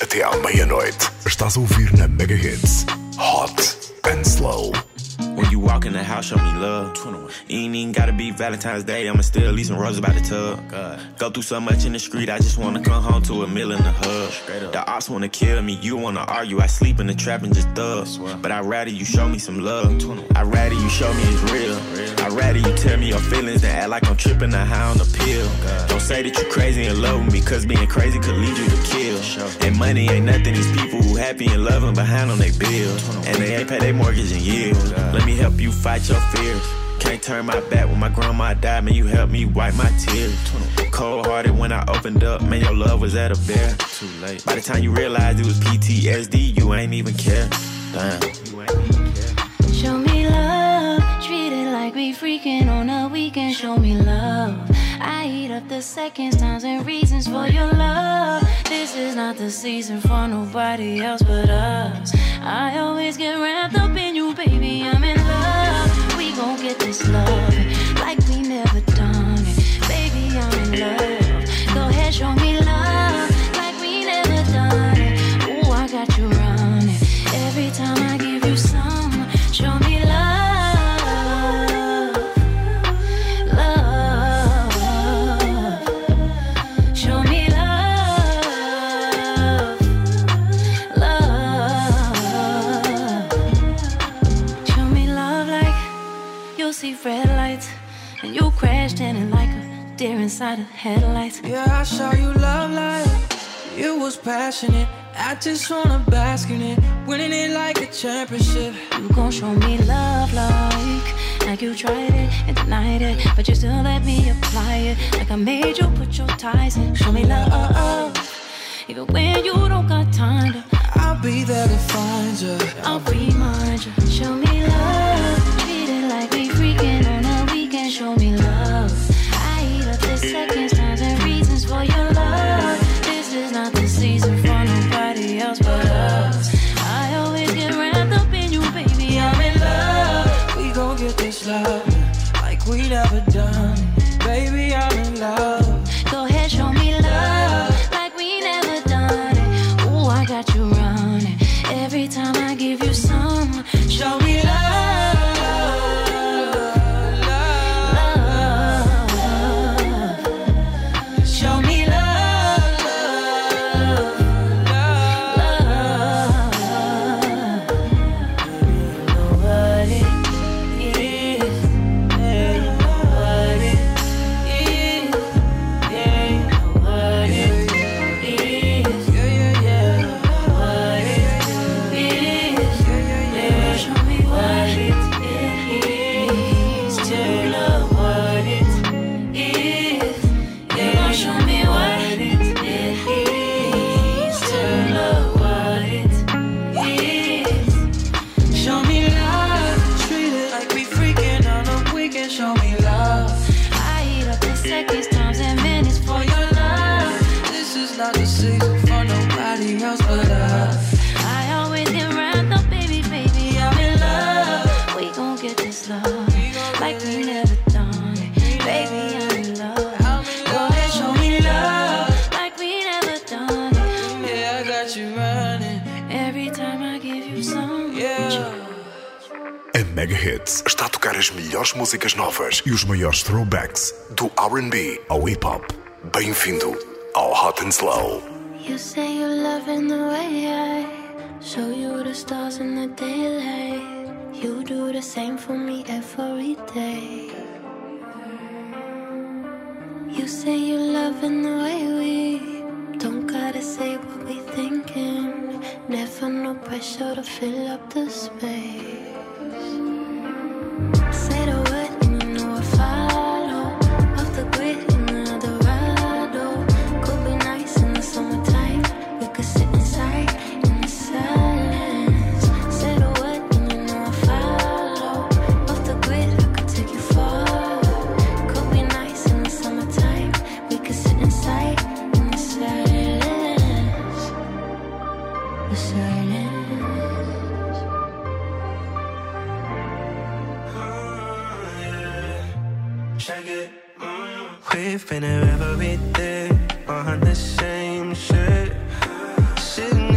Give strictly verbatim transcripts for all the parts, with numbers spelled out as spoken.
até à meia-noite. Estás a ouvir na Mega Hits Hot and Slow. When you walk in the house, show me love. You ain't even gotta be Valentine's Day, I'ma still leave some roses by the tub. Go through so much in the street, I just wanna come home to a meal in the hub. The ops wanna kill me, you wanna argue, I sleep in the trap and just thug. But I'd rather you show me some love. I'd rather you show me it's real. I'd rather you tell me your feelings than act like I'm tripping or high on a pill. Don't say that you crazy and love me, cause being crazy could lead you to kill. And money ain't nothing, these people who happy and loving behind on their bills. And they ain't pay their mortgage in years. Let me help you fight your fears. Can't turn my back when my grandma died, man, you helped me wipe my tears. Cold hearted when I opened up, man, your love was at a bear. Too late. By the time you realized it was P T S D, you ain't even care. Damn. You ain't even care. Show me love, treat it like we freaking on a weekend. Show me love, I eat up the seconds, times and reasons for your love. This is not the season for nobody else but us. I always get wrapped up in you, baby, I'm in love. We gon' get this love like we never done it. Baby, I'm in love. Go ahead, show me love like we never done it. Ooh, I got you running. Every time I give you some, show me love, love. Show me love, love. Show me love like you'll see red lights and you crashed in it like a deer inside of headlights. Yeah, I saw you love like you was passionate. I just wanna bask in it, winning it like a championship. You gon' show me love like like you tried it and denied it, but you still let me apply it. Like I made you put your ties in. Show me love, even when you don't got time to. I'll be there to find you. I'll remind you. Show me love, treat it like we freaking on a weekend. Show me love, I eat up the seconds, times and reasons for your love. This is not the season for nobody else but us. I always get wrapped up in you, baby, I'm in love. We gon' get this love like we never done it. Baby, I'm in love. Go ahead, show me love like we never done it. Ooh, I got you running. Every time I give you some, show me love. Mega Hits está a tocar as melhores músicas novas e os maiores throwbacks do R and B ao hip hop. Bem-vindo ao Hot and Slow. You say you're loving the way I show you the stars in the daylight. You do the same for me every day. You say you're loving the way we don't gotta say what we thinking. Never no pressure to fill up the space. Say the word and you know I follow. Off the grid in the Eldorado. Could be nice in the summertime. We could sit inside in the silence. Say the word and you know I follow. Off the grid I could take you far. Could be nice in the summertime. We could sit inside in the silence. The silence. We've been here every day on the same shit. Sitting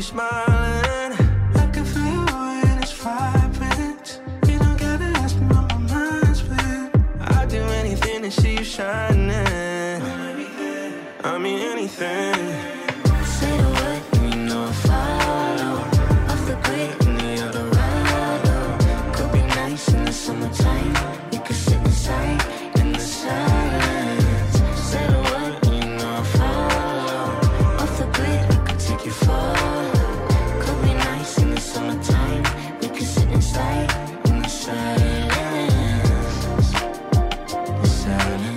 you're smiling. I can feel you when it's vibrant. You don't gotta ask me what my mind's been. I'd do anything to see you shining. I mean anything. Say the word and you know I'll follow. Off the grid in the Eldorado. Could be nice in the summertime. We could sit inside in the silence. Say the word and you know I'll follow. Off the grid I could take you far. Could be nice in the summertime. We could sit inside in the silence. The silence.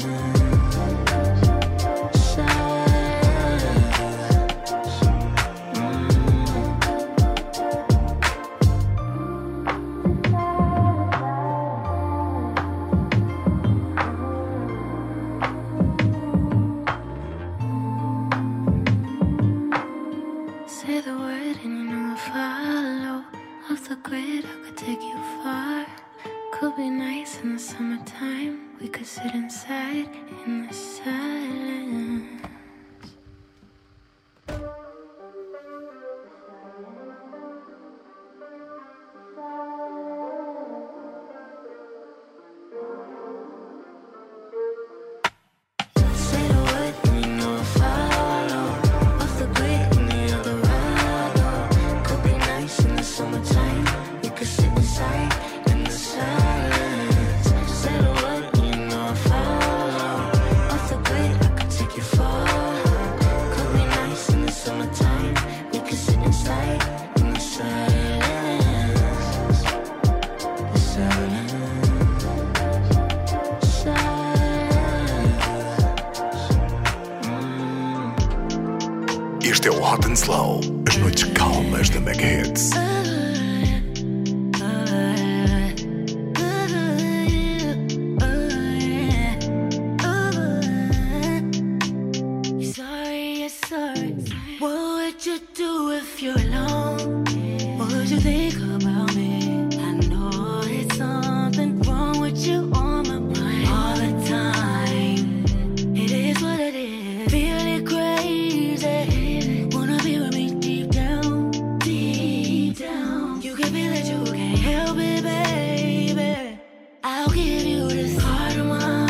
Say the word and you know I'll follow. Off the grid, I could take you far. Could be nice in the summertime. We could sit inside in the silence. Say the word and you know I'll follow. Off the grid in the Eldorado. Could be nice in the summertime. We could sit inside in the silence. Say the word and you know I'll follow. Off the grid, I could take you far. Could be nice in the summertime. We could sit inside in the silence. The silence. Este é o Hot and Slow, as noites calmas da Mega Hits. Sorry, yes, sorry. What would you do if you're alone? What would you think about me? I know it's something wrong with you on my mind all the time. It is what it is. Feeling crazy. Wanna be with me deep down, deep down. You can feel it, you can't help it, baby. I'll give you this heart of mine.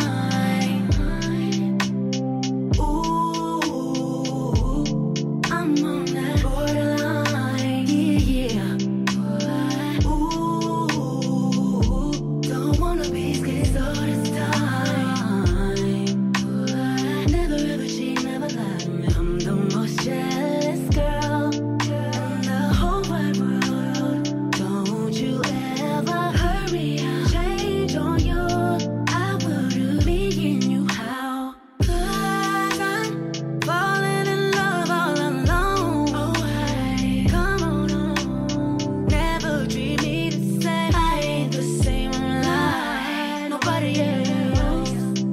Ooh, I'm on that borderline, yeah, yeah. Ooh, don't wanna be scared all this time. Never ever cheat, never lie to me. I'm the most jealous girl in the whole wide world. Don't you ever hurt me, I'll change on you. I wouldn't be in you, how? 'Cause I'm falling in love all alone. Oh, hey, come on, on. Never treat me the same. I ain't the same, I'm like nobody else.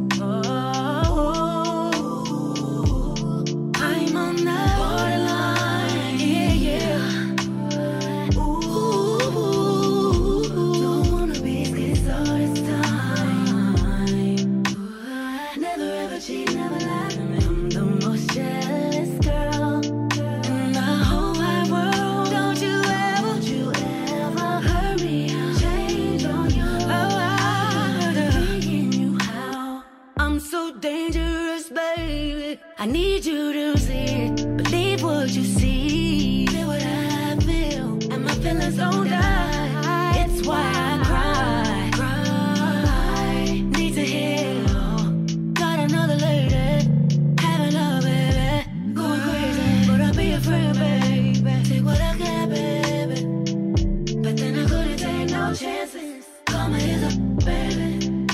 Oh, I'm on that borderline, yeah, yeah. Ooh, don't wanna be scared all this time. Never ever cheat, never lie to me. I'm the most jealous girl in the whole wide world. Don't you ever, don't you ever hurt me, I'll change on you. Oh, I wouldn't be in you, how? I'm so dangerous, baby. I need you to see it. Believe what you see. Feel what I feel, and my feelings don't die. It's why I cry, cry. Need to heal. Got another lady, having love, baby. Going crazy, but I'll be a friend, baby. Take what I got, baby. But then I couldn't take no chances. Call me as a baby.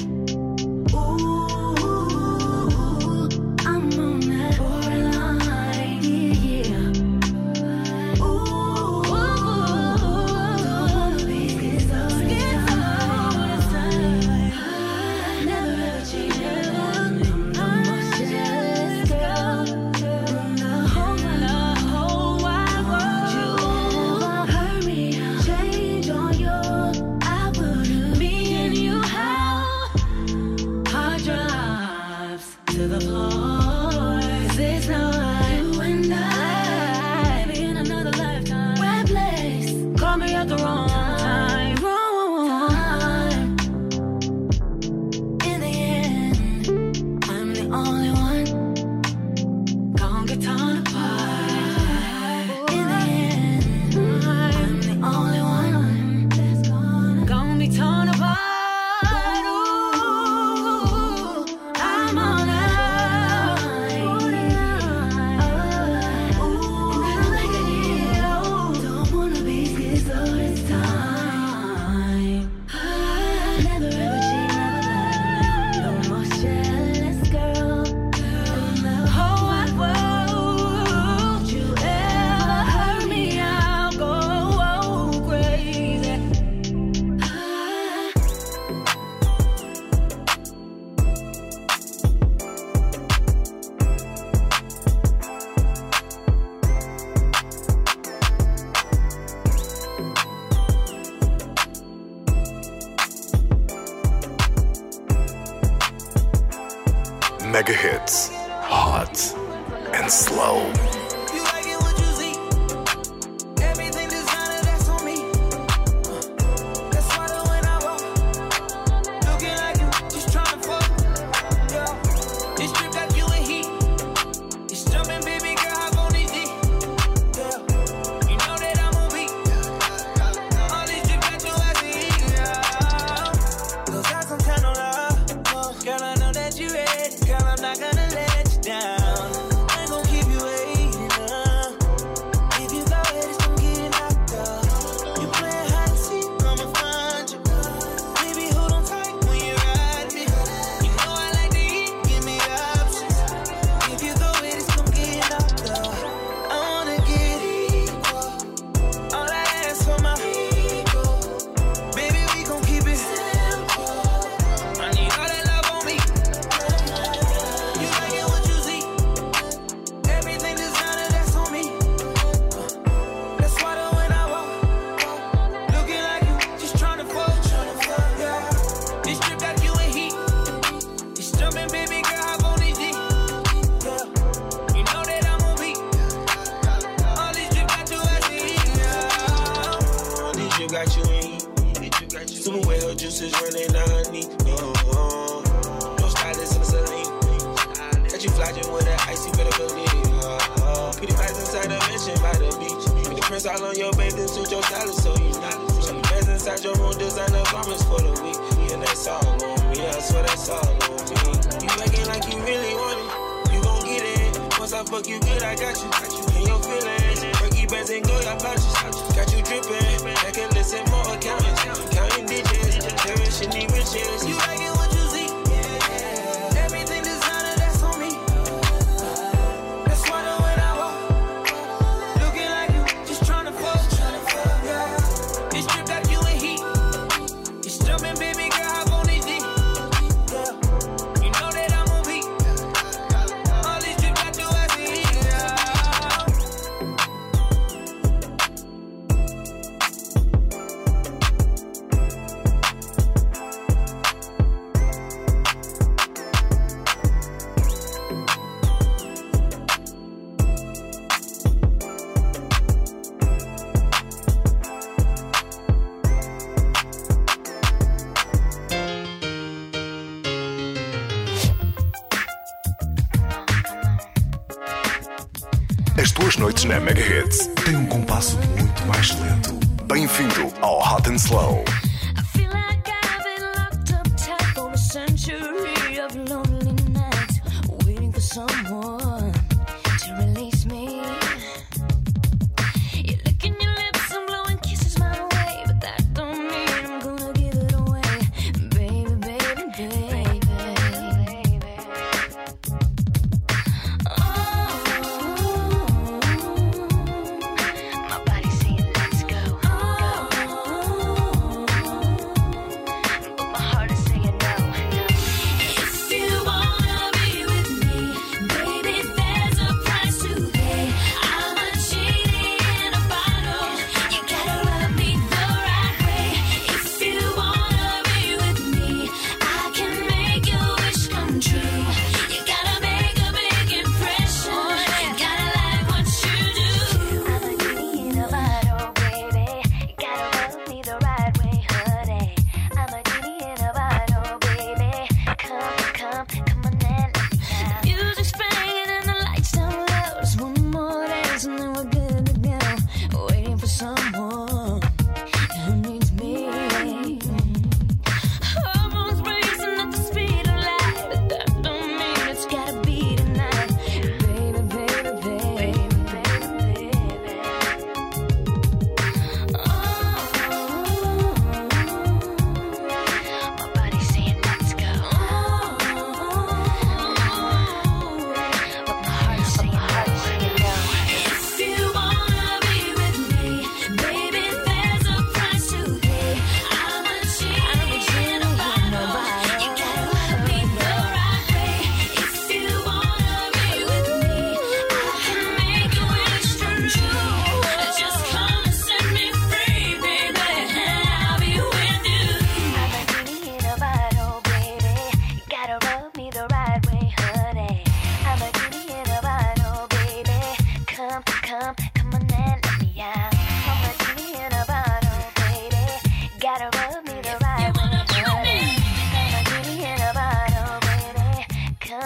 Ooh, I'm on that borderline, yeah, yeah. Ooh, don't wanna be scared all this time. Never ever cheat, never. I'm the most jealous girl in the whole wide world. You ever hurt me, I'll change on you. I wouldn't be in you, how? Hard drives to the floor. 'Cause it's not you and I. Maybe in another lifetime. Mega Hits, Hot and Slow. You like it what you see. Everything designer, that's on me. That's why the when I walk, looking like you, just tryna fuck. Yeah, this trip got you in heat. It's jumping, baby girl, hop on these D. Yeah, you know that I'm on beat. All these trip got you as a heat. Yeah, those got some kind of love. Girl, I know that you ready. Girl, I'm not gonna let you down. I ain't gon' keep you waiting up. If you go ahead, it's gon' get knocked up. You playing hide and seek, I'ma find you. Baby, hold on tight when you ride me. You know I like to eat, give me options. If you go ahead, it's gon' get knocked up. I wanna get equal. All I ask for my ego. Baby, we gon' keep it simple. I need all that love on me. You like it what you see. Everything designer, that's on me. That's why the when I walk, looking like you, just tryna fuck. Yeah, this trip got you in heat. It's jumping, baby girl, hop on these D. Yeah, you know that I'm on beat. All these drip got you as a heat. Yeah, all these drip got you in heat. Super wet, her juices running down her knee. Oh, oh. No stylist in the saline. Got you flashing with that icy, better believe. Oh, oh. Pretty vibes inside the mansion by the beach. Put the prints all on your baby, then suit your stylist so you know. So the best inside your room, designer garments for the week. And that's all on me, I swear that's all on me. You acting like you really want it, you gon' get it. Once I fuck you good, I got you. In your feelings, Ricky bands and go your pouches. Got you dripping, I can listen more accountants. Counting digits, cherishing the riches. You like it what you see. Everything designer, that's on me. That's why the when I walk, looking like you, just tryna fuck. Yeah, this trip got you in heat. It's jumping, baby girl, hop on these D. Yeah, you know that I'm on beat. All these drip got you as a heat. Yeah. As tuas noites na Mega Hits têm um compasso muito mais lento. Bem-vindo ao Hot and Slow. I feel like I've been locked up tight for a century of lonely nights, waiting for someone to release me. You're licking your lips and blowing kisses my way, but that don't mean I'm gonna give it away, baby, baby, baby, baby. Oh, my body's saying let's go, go. But my heart is saying no, no. If you wanna be with me, baby,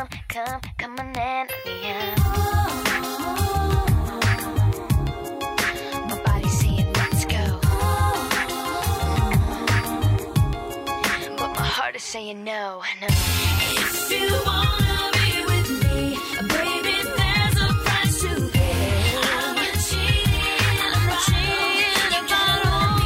Come, come, come on and let me out. My body's saying let's go, but my heart is saying no, no. If you wanna be with me, baby, there's a price to pay. I'm not cheating, I'm not cheating about me.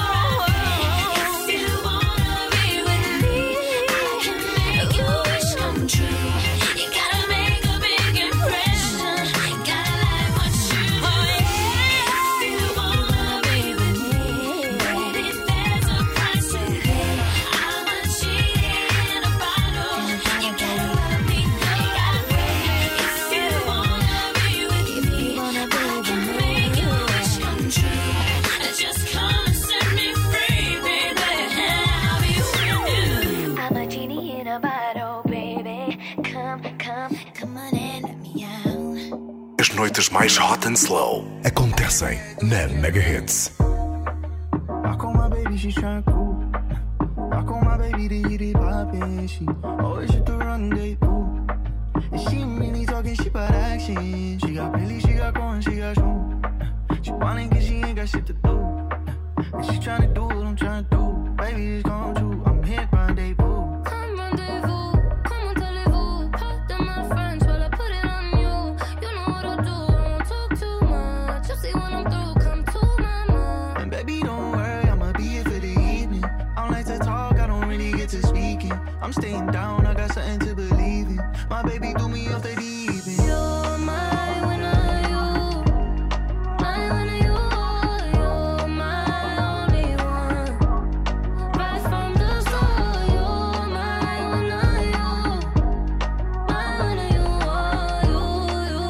If you wanna be with me, I can make your wish come true. You gotta make a big impression, gotta like what you do. If you wanna be with me, baby, there's a price to pay. I'm not cheating about you. You gotta let me know. If you wanna be with me, I can make your wish come true. Just come and set me free, baby. I'll be with you. I'm a genie in a bottle, baby. Come, come, come on and let me out. As noites mais hot and slow acontecem na Mega Hits. Rock on my baby, she's tryna cool. Rock on my baby, to get it poppin'. She always hit the rendezvous. And she ain't really talking shit about action. She got Billy, she got corn, she got shoes. She whining cause she ain't got shit to do. And she tryna do what I'm tryna do. Baby, it's come true, I'm hit rendezvous. Come rendezvous, comment allez-vous? Pardon my French while I put it on you. You know what I'll do, I won't talk too much. You'll see when I'm through, come to mama. And baby, don't worry, I'ma be here for the evening. I don't like to talk, I don't really get to speaking. I'm staying down, I got something to believe in. My baby threw me off the deep end. You're my winner, you. My winner, you. You're my only one. Right from the start, you're my winner, you. My winner, you are. You, you,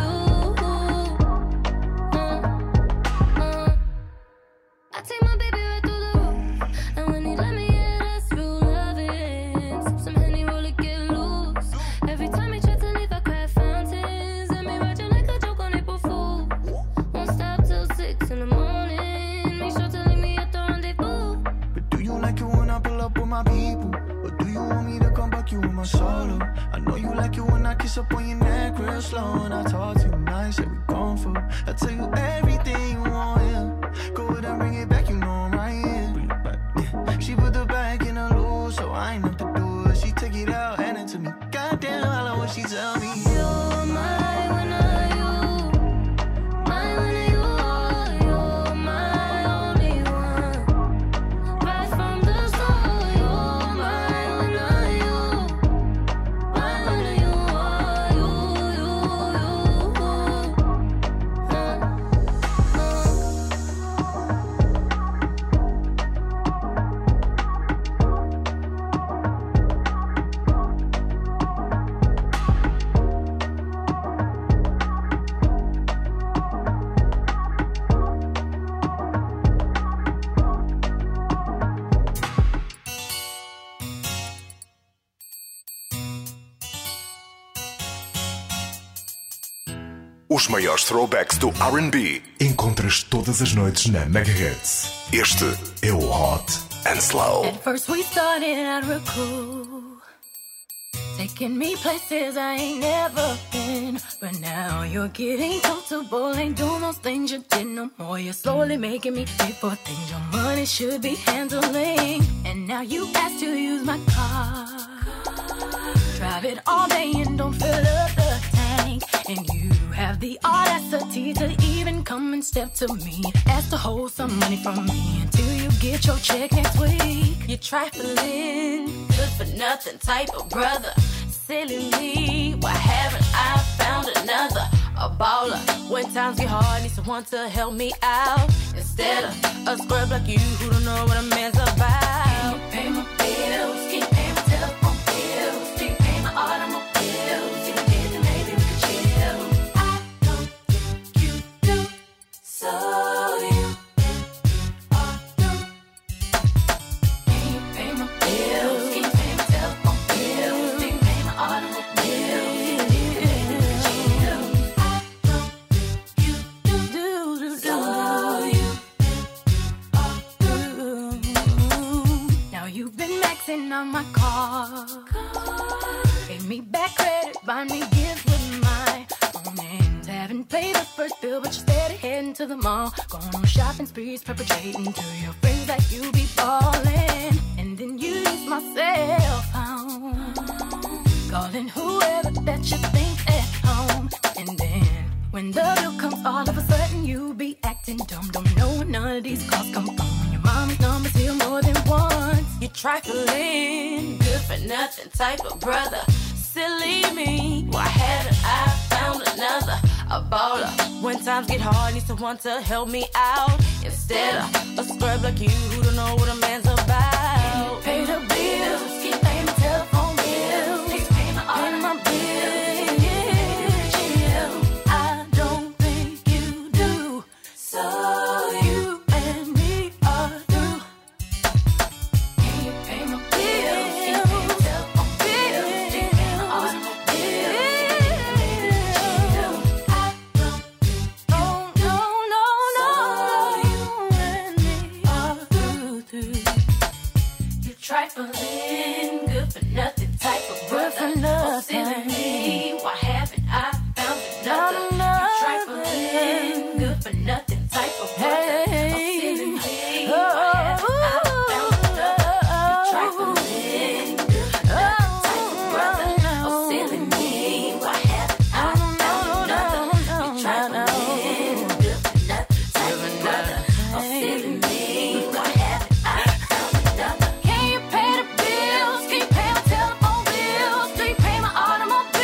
you. Uh, uh. I take my baby right through the roof. And when he let me in, that's real loving. Sip some Henny, roll it, get loose. Every time he tried to leave, I cried fountains. And me raging like a joke on April Fool. Won't stop till six in the morning. Make sure to leave me at the rendezvous. But do you like it when I pull up with my people? Or do you want me to come back you with my solo? I know you like it when I kiss up on your neck real slow. And I talk to you nice, yeah, we gon' fool. I tell you everything you want, yeah. Go ahead and bring it back, you know I'm right here. Bring it back, yeah. She put the back in a loose, so I ain't have to do it. She take it out, hand it to me. Goddamn, I love what she tell me. You're my winner, you. My winner, you are. You're my only one. Right from the start, you're my winner, you. My winner, you are. You, you, you. Uh, Os maiores throwbacks do R and B encontras todas as noites na Mega Hits. Este é o Hot and Slow. At first we started out real cool, taking me places I ain't never been. But now you're getting comfortable, ain't doing those things you did no more. You're slowly making me pay for things your money should be handling. And now you ask to use my car, drive it all day and don't fill up the tank. And you have the audacity to even come and step to me, ask to hold some money from me until you get your check next week. You're trifling, good for nothing type of brother. Silly me, why haven't I found another? A baller, when times get hard, need someone to help me out. Instead of a scrub like you who don't know what a man's about. Can you pay my bills? Can you pay my telephone bills? Can you pay my automobiles? If you did, then maybe we could chill. I don't think you do, so you ought to. Can you pay my bills? Can you pay my telephone bills? Can you pay my automobiles? If you did, then maybe we could chill. I don't think you do, so you ought to. Now you've been maxing on my car, gave me back credit find me gifts with my own hands. Haven't paid the first bill, but you're steady heading to the mall. Going on shopping sprees, perpetrating to your friends that you be ballin'. And then you use my cell phone, calling whoever that you think at home. And then when the bill comes, all of a sudden you be acting dumb. Don't know where none of these calls come from. When your mama's number's here more than once. You're trifling, good for nothing type of brother. Silly me, why haven't I found another? A baller. When times get hard, need someone to help me out. Instead of a scrub like you who don't know what a man's about. Pay the bills, keep paying my telephone bills. Keep paying my, paying my bills. I don't think you do. So you and me are through. Can you pay my bills? Keep paying my telephone bills. Keep paying my automobile bills. I don't think no, no, no, no. You and me are through, through. You trifling, good for nothing type of brother. Good for nothing. Oh, silly me, why haven't I found another? You trifling, good for nothing type of brother. Oh, silly me, why haven't I found another? You trifling, good for nothing type of brother. Oh, silly me, why haven't I found another? You trifling, good for nothing type of brother. Oh, silly me, why haven't I found another? Can you pay the bills? Can you pay my telephone bills? Do you pay my automobile?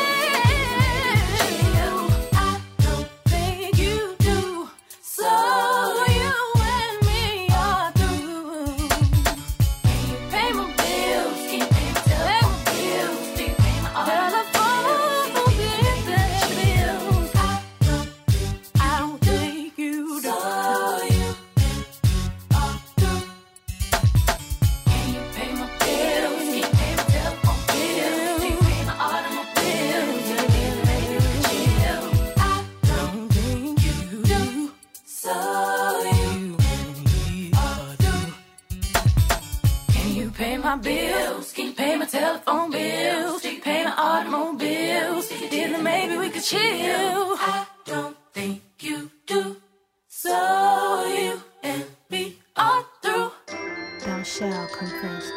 I don't think you do. So you and me are through. Can you pay my bills? Can you pay my telephone bills? Do you pay my automobile bills? I don't, I don't think you do. So you are through. Can you pay my bills? Can you pay my telephone bills? Do you pay my automobile? Do you feel like you can chill? I don't think you do. So you and me are through. Can you pay my bills? Can you pay my telephone bills? Do you pay my automobiles? If you did, then maybe we could chill. I don't think you do. So you and me are through. Thou shalt confess.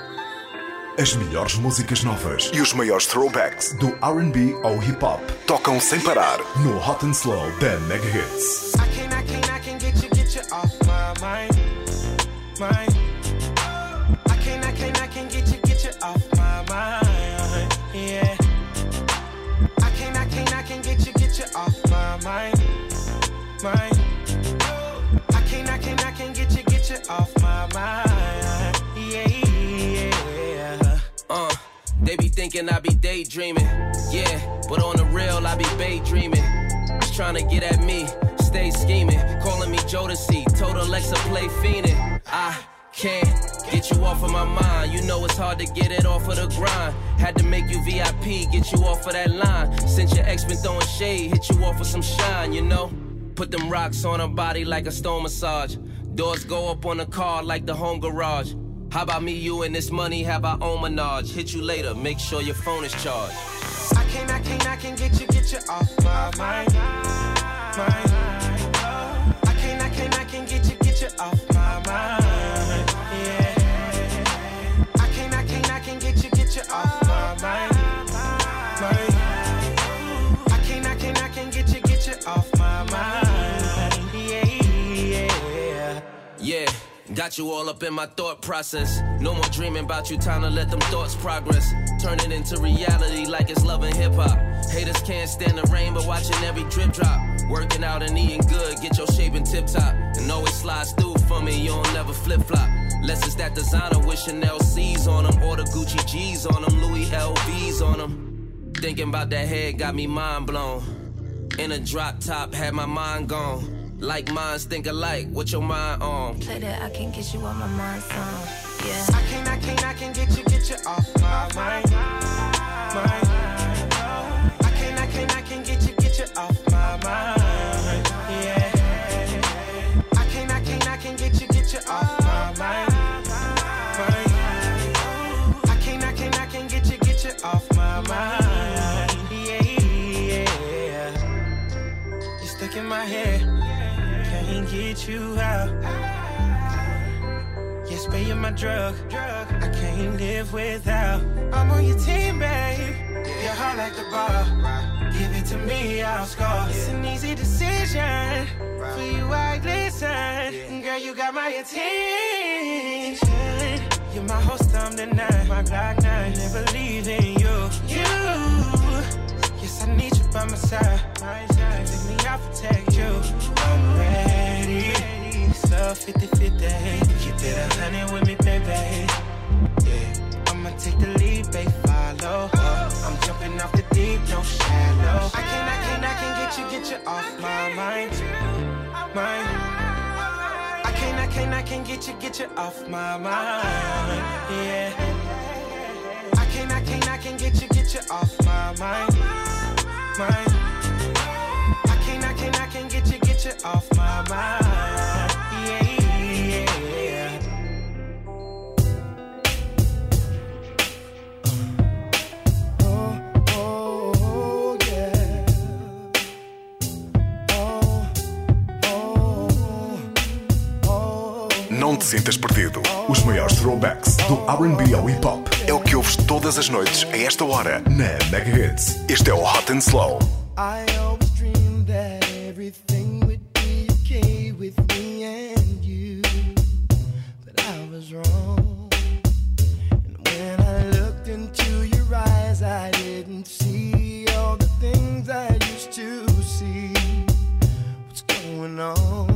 As melhores músicas novas e os maiores throwbacks do R and B ao hip hop tocam sem parar no Hot and Slow da Mega Hits. I can, I can, I can get you, get you off my mind, mind. I can, I can, I can get you, get you off my mind, yeah. I can, I can, I can get you, get you off my mind, mind. I can, I can, I can get you, get you off my mind, yeah, yeah. Uh, they be thinking I be daydreaming, yeah, but on the real I be daydreaming. Just trying to get at me, stay scheming, calling me Jodeci, told Alexa play fiendin'. I can't get you off of my mind, you know it's hard to get it off of the grind. Had to make you V I P, get you off of that line. Since your ex been throwing shade, hit you off with some shine, you know. Put them rocks on her body like a stone massage. Doors go up on the car like the home garage. How about me, you, and this money have our own menage? Hit you later, make sure your phone is charged. I can, I can, I can get you, get you off my mind, mind. I can, I can, I can get you, get you off my mind, yeah. I can, I can, I can get you, get you off my mind, mind. I can, I can, I can get you, get you off my mind, yeah, yeah. Yeah, got you all up in my thought process. No more dreaming about you, time to let them thoughts progress. Turn it into reality like it's love and hip hop. Haters can't stand the rain, but watching every drip drop. Working out and eating good, get your shape in tip top. And always slides through for me, you don't never flip flop. Unless it's that designer with Chanel C's on them, or the Gucci G's on them, Louis L V's on them. Thinking about that head got me mind blown. In a drop top, had my mind gone. Like minds think alike, what your mind on? Play that, I can get you on my mind song. Yeah. I can, I can, I can get you, get you off my mind, mind. I can, I can, I can get you, get you off my mind, yeah. I can, I can, I can get you, get you off my mind, mind. I can, I can, I can get you, get you off my mind. get you out. Yes, babe, you're my drug. I can't live without. I'm on your team, babe. You're hot like the bar. Give it to me, I'll score. It's an easy decision. For you, I glisten. Girl, you got my attention. You're my host, I'm the night. My Glock nine, never leaving you. You. Yes, I need you by my side. Take me, I'll protect you. I'm ready. It's love fifty fifty. Keep it a hundred with me, baby. Yeah, I'ma take the lead, babe, follow. I'm jumping off the deep, no shallow. I can't, I can't, I can't get you, get you off my mind. Mind. I can't, I can't, I can't get you, get you off my mind. Yeah. I can't, I can't, I can't get you, get you off my mind. Mind. I can't, I can't, I can't get you, get you off my mind. Yeah, yeah. Oh, oh, yeah. Oh, oh, oh. Não te sintas perdido. Os maiores throwbacks do R and B ao hip hop é o que ouves todas as noites a esta hora na Mega Hits. Este é o Hot and Slow. I always dreamed that everything would be okay with me and you, but I was wrong. And when I looked into your eyes, I didn't see all the things I used to see. What's going on?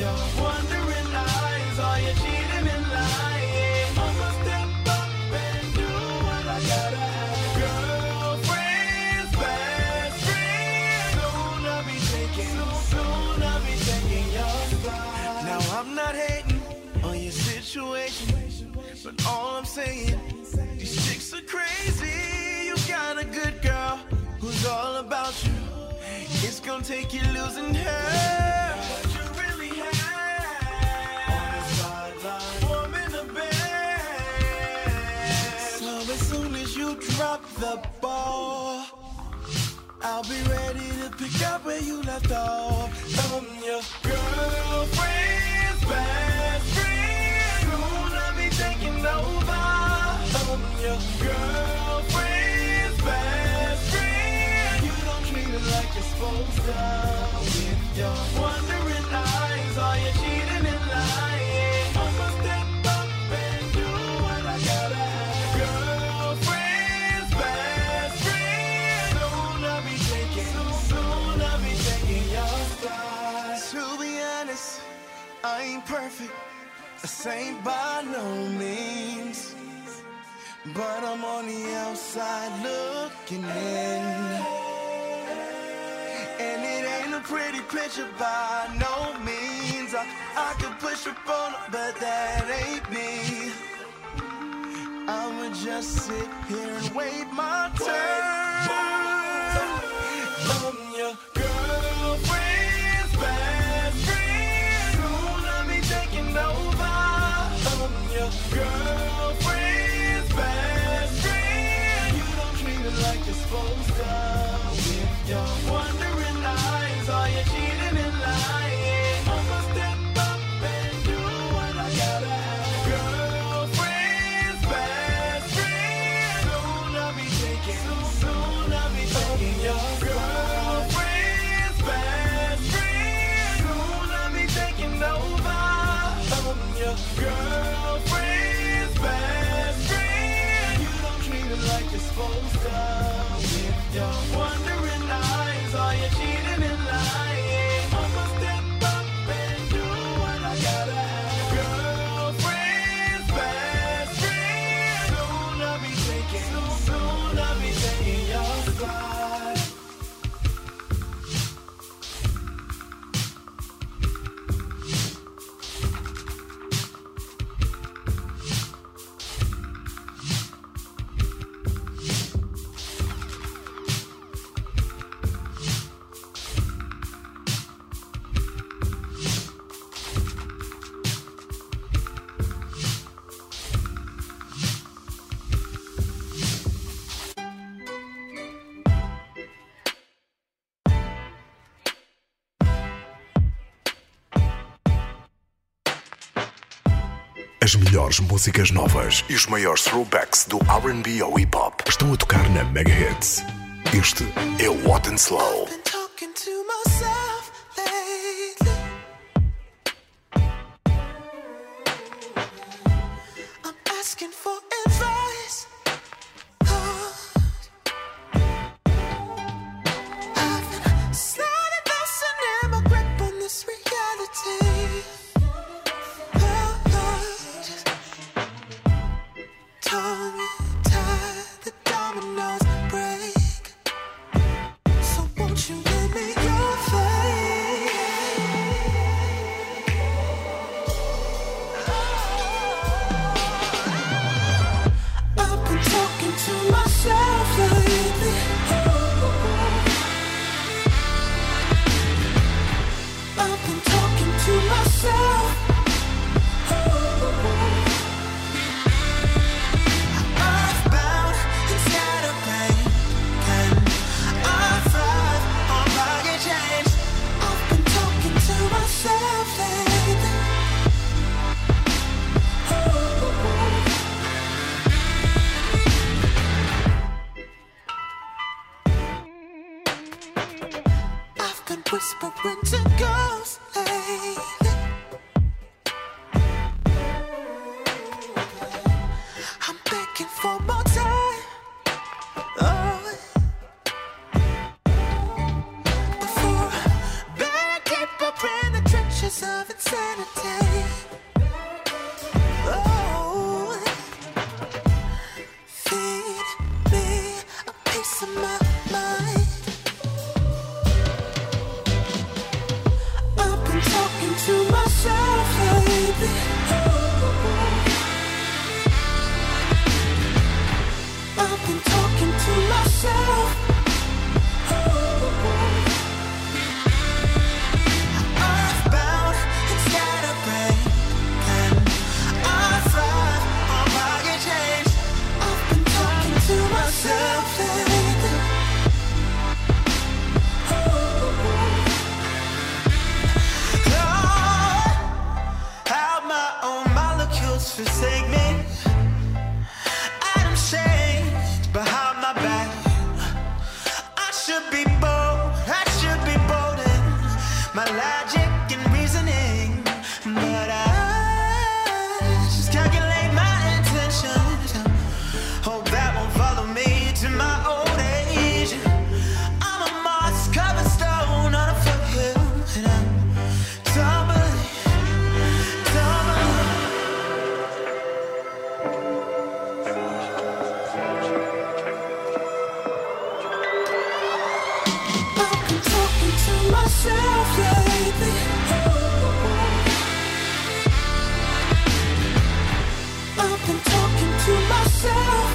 your wondering eyes, are you cheating and lying? I'ma step up and do what I gotta have. Girlfriends, best friends, soon I'll be taking, soon I'll be taking your spot. Now I'm not hating on your situation, but all I'm saying, these chicks are crazy. You got a good girl who's all about you. It's gonna take you losing her. What you really have on the sideline, warm in the bed. So as soon as you drop the ball, I'll be ready to pick up where you left off. I'm your girlfriend's best friend. Soon I'll be taking over. I'm your girlfriend's best friend. You don't treat her like you're supposed to. With your wondering eyes, are you cheating and lying? I'ma step up and do what I gotta have. Girlfriend's best friend. Soon I'll be taking, soon I'll be taking your spot. To be honest, I ain't perfect. This ain't by no means, but I'm on the outside looking in. And it ain't a pretty picture by no means. I, I could push up on it, but that ain't me. I'ma just sit here and wait my turn. I'm your girlfriend's best friend. Soon I'll be taking over. I'm your girlfriend's best friend. You don't treat her like you're supposed to. With your wondering eyes, are you cheating and lying? I'ma step up and do what I gotta have. Girlfriend's best friend. Soon I'll be taking, soon I'll be taking your girlfriend's best friend. Soon I'll be taking over. I'm your girlfriend's best friend. You don't treat her like you're supposed to. With your wondering eyes, are you cheating and lying? I'ma step up and do what I gotta have. Girlfriend's best friend. Soon I'll be taking, soon I'll be taking your spot. As melhores músicas novas e os maiores throwbacks do R and B ao hip-hop estão a tocar na Mega Hits. Este é o Hot and Slow. Won't of insanity. Oh, feed me a piece of my mind. I've been talking to myself lately. I've been talking to myself. Forsake me. I'm changed behind my back. I should be bold, I should be bold in my logic and reasoning, but I just calculate my intentions. Hope that won't follow me to my old age. I'm a moss covered stone on a foothill, and I'm tumbling, tumbling. Myself lately. I've been talking to myself.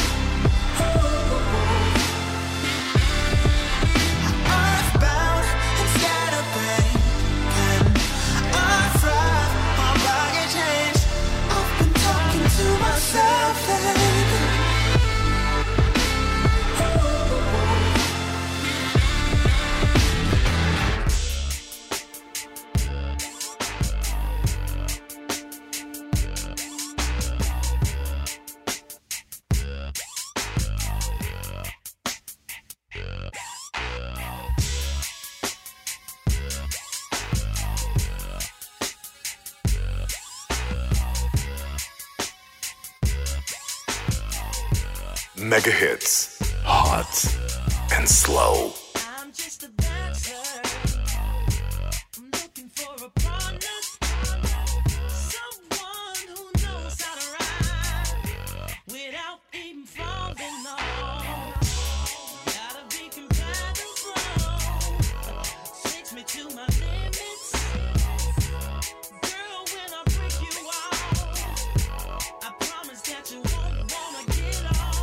Earthbound and scatterbrained, and I thrive on rugged change. I've been talking to myself lately. Mega hits, hot and slow. I'm just a dancer. I'm looking for a partner, someone who knows how to ride without even falling off. Gotta be compatible, takes me to my limits. Girl, when I break you off, I promise that you won't wanna get off.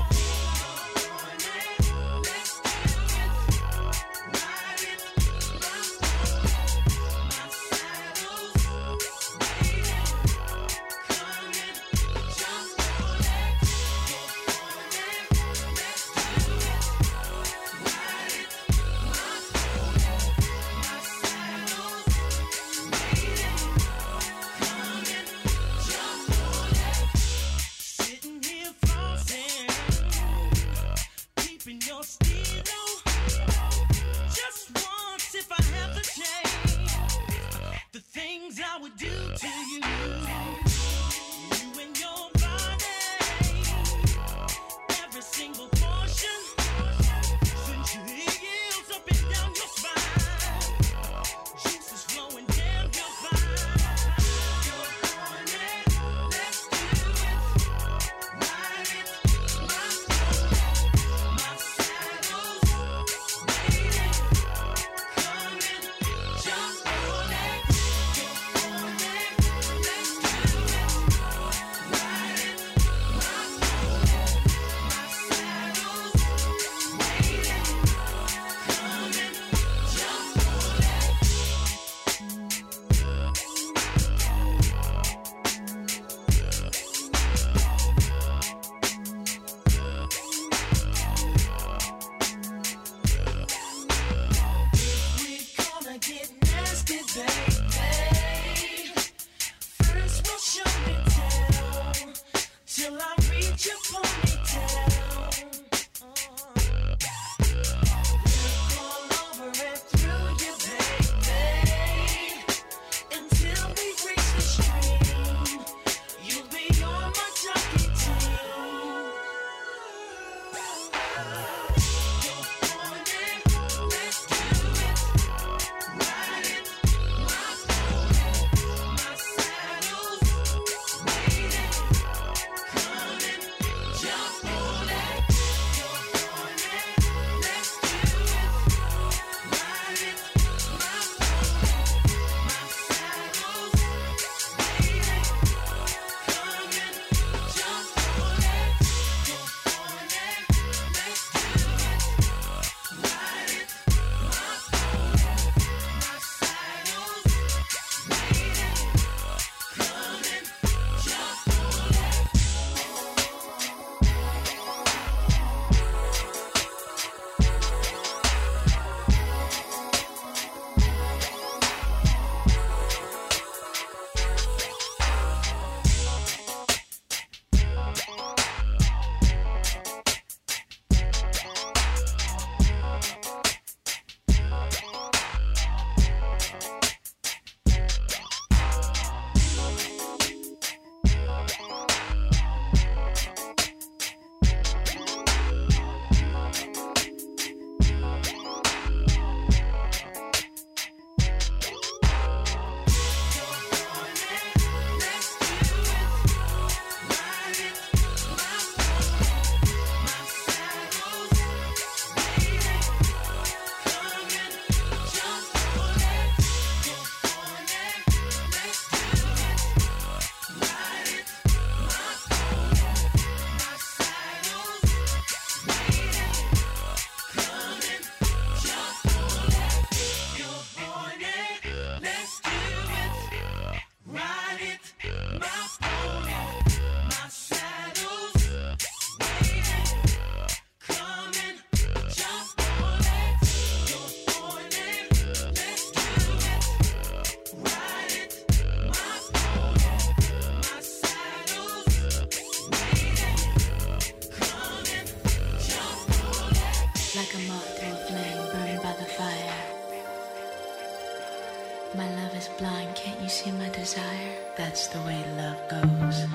desire. That's the way love goes.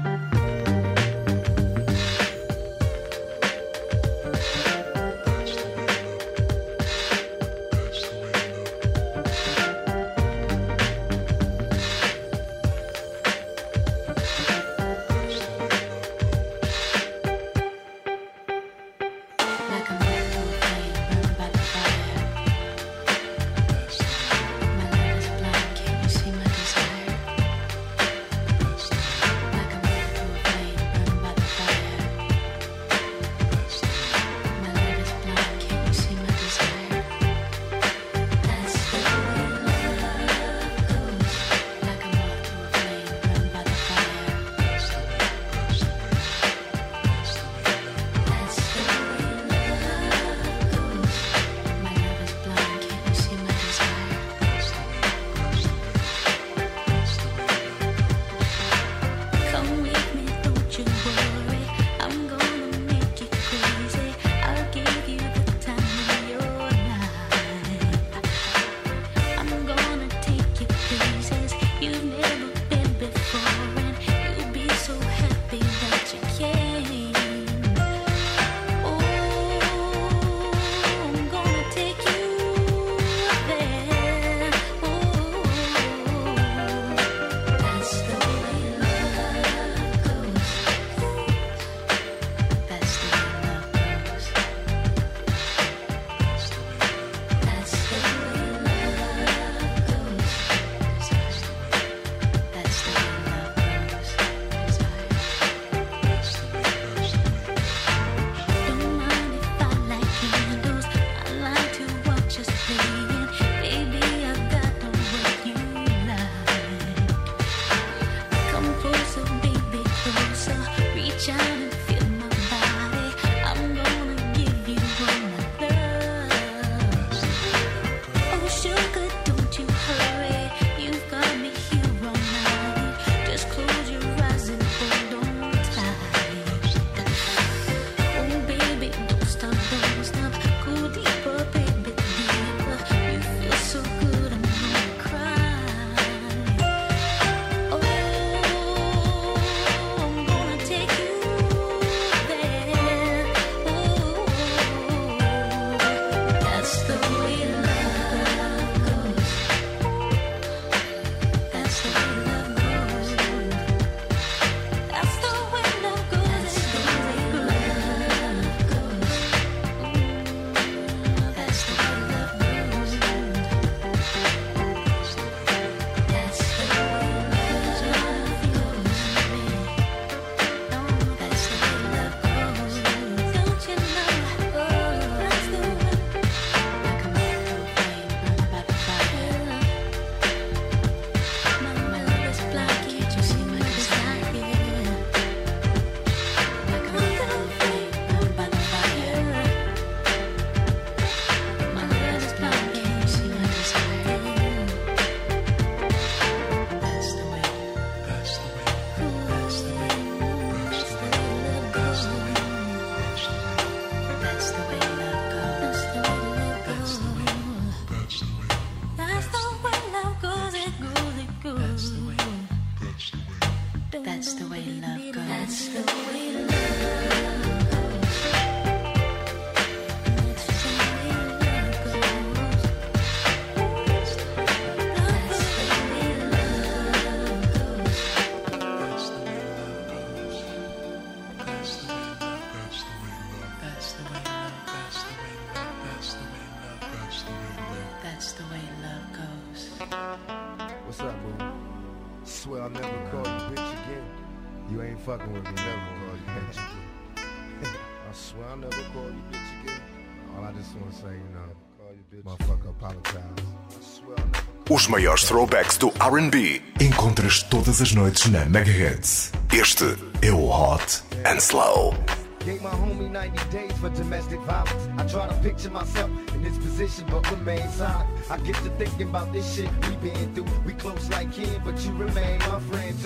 What's up, boo? Swear I'll never call you bitch again. You ain't fucking with me, never call you bitch again. I swear I'll never call you bitch again. All I just want to say, you know, call you bitch. Motherfucker, apologize. I swear I'll never. Os maiores throwbacks do R and B encontras todas as noites na Megahertz. Este é o Hot and Slow. Gave my homie ninety days for domestic violence. I try to picture myself in this position, but remain silent. I get to thinking about this shit we been through. We close like kin, but you remain my friend too. It's like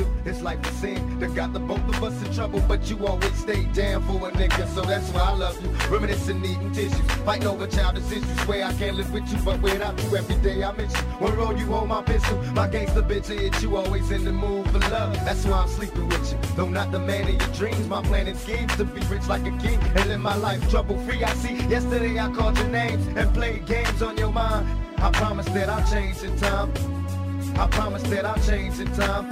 life a sin that got the both of us in trouble, but you always stayed down for a nigga, so that's why I love you. Reminiscing, needing tissues, fighting over childish issues. Swear I can't live with you, but without you every day I miss you. One road you hold my pistol, my gangster bitch hit you, always in the mood for love. That's why I'm sleeping with you, though not the man of your dreams. My plan and schemes to be rich like a king and live my life trouble free. I see yesterday I called your names and played games on your mind. I promise that I'll change in time. I promise that I'll change in time.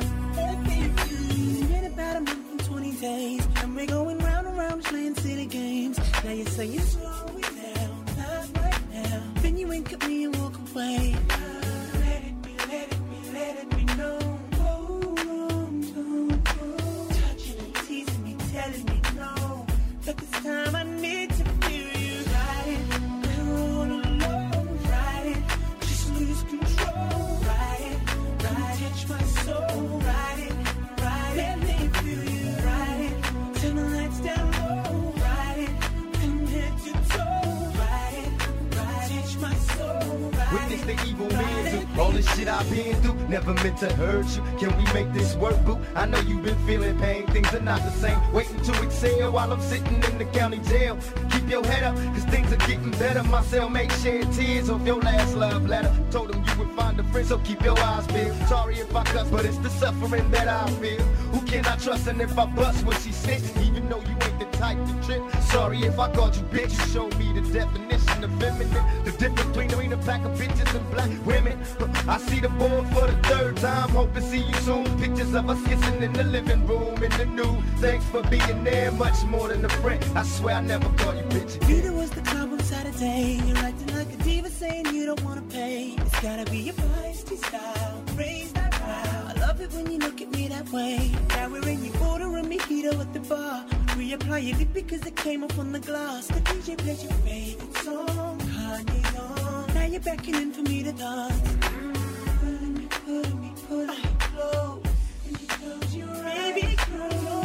Been about a month and twenty days, and we're going round and round playing silly games. Now you say you slow it down, not right now. Then you wink at me and walk away. Let it be, let it be, let it be known. Oh, oh, oh. Touching and teasing me, telling me no. But this time I need to feel you. Ride it, we're all alone. Ride it, just lose control. Ride it, ride it, touch my soul. Ride it, ride it, let me feel you. Ride it, turn the lights down low. Ride it, from head to toe. Ride it, ride it, touch my soul. Witness the evil men do all this shit I've been through. Never meant to hurt you. Can we make this work, boo? I know you've been feeling pain. Things are not the same. Waiting to exhale while I'm sitting in the county jail. Keep your head up, cause things are getting better. My cellmate shed tears off your last love letter. Told him you would find a friend, so keep your eyes peeled. Sorry if I cuss, but it's the suffering that I feel. Who can I trust? And if I bust when she sits, even though you ain't the type to trip. Sorry if I called you bitch. You showed me the definition of feminine. The difference between a pack of bitches and black women. I see the board for the third time. Hope to see you soon. Pictures of us kissing in the living room in the new. Thanks for being there, much more than a friend. I swear I never called you bitch. Neither was the club on Saturday. You're acting like a diva, saying you don't wanna pay. It's gotta be your feisty style. Raise that brow. I love it when you look at me that way. Now we're in your order and mojito at the bar. Reapply your lip because it came off on the glass. The D J plays your favorite song. Kanye's on. Now you're beckoning for me to dance. Pulling me, pulling me, pulling me close. And you close your eyes. Baby, close your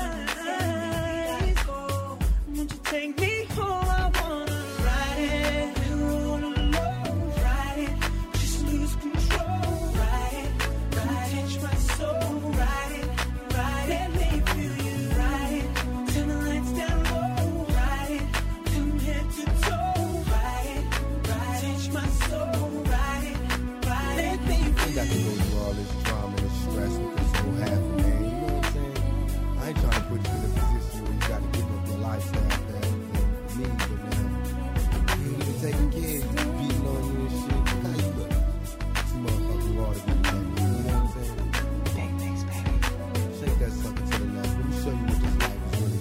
eyes. Won't you take me home? I wanna ride it. We're all alone. Ride it. Just lose control. Ride it. Ride it. Touch my soul. Ride it. Ride it. Let me feel you. Ride it. Turn the lights down low. Ride it. From head to toe. Ride it. Ride it. Touch my soul. Ride it. Ride it. Let me feel you. Got to go through all this drama and stress with this whole half a man. You know what I'm saying? I ain't trying to put you in a position where you got to give up your lifestyle that you need, but now you ain't even taking care of you, beating on you and shit. How you look? This motherfucker raw to be back. You know what I'm saying? Big things, baby. Shake that sucker to the left. Let me show you what this life is really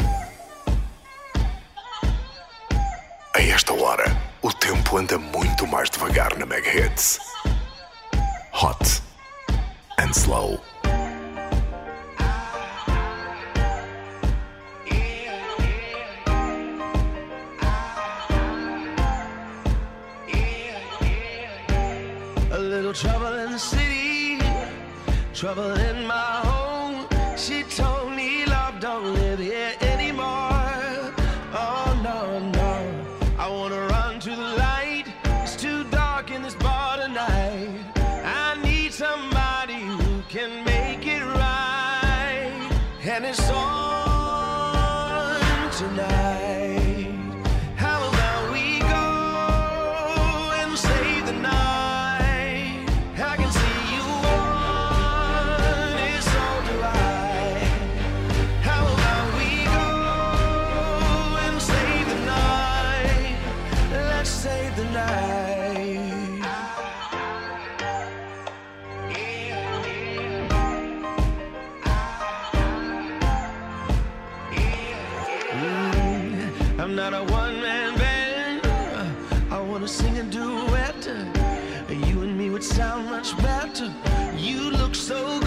about. A esta hora, o tempo anda muito mais devagar na Mega Hits. Hot and slow. A little trouble in the city, trouble in my home. She told me love don't live here anymore. Oh no, no, I wanna run to the light. It's too dark in this bar tonight. I need somebody who can make it right. And it's on tonight. How about we go and save the night? I can see you want it, so do I. How about we go and save the night? Let's save the night. Mm, I'm not a one-man band. I wanna sing a duet. You and me would sound much better. You look so good.